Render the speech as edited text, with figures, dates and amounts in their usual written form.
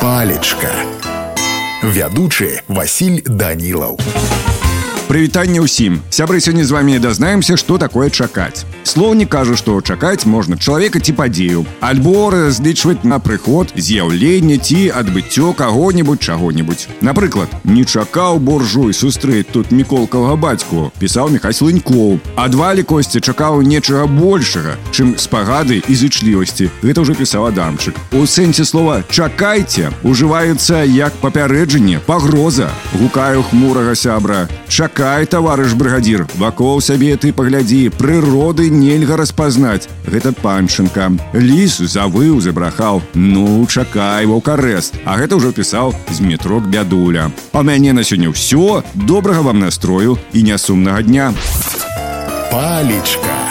Палечка. Вядучы Васіль Данілаў. Прывітанне ўсім. Сябры, сёння з вами дазнаемся, што такое чакаць. Слоўнік кажа, што чакаць можна чалавека ці падзею, альбо разлічваць на прыход, з'яўленне ці адбыццё каго-небудзь чаго-небудзь. Напрыклад, не чакаў буржуй сустрэць тут міколкавага бацьку, пісаў Міхась Лынькоў. А Двалі Косці чакаў нечага большага, чым спагады і зычлівасці. Гэта ўжо пісаў Адамчык. У сэнсе слова «чакайце» ужываецца як папярэджанне, пагроза. Гукаю хмурага сябра: «Чакай, таварыш брыгадзір, вакол сябе ты паглядзі, прыроды нельга распазнаць». Гэта Панченка. Ліс завыў, забрахаў: «Ну, чакай, ваўкарэст». А гэта ўжо пісаў Змітрок Бядуля. А ў мяне на сёння ўсё. Добрага вам настрою і нясумнага дня. Палечка.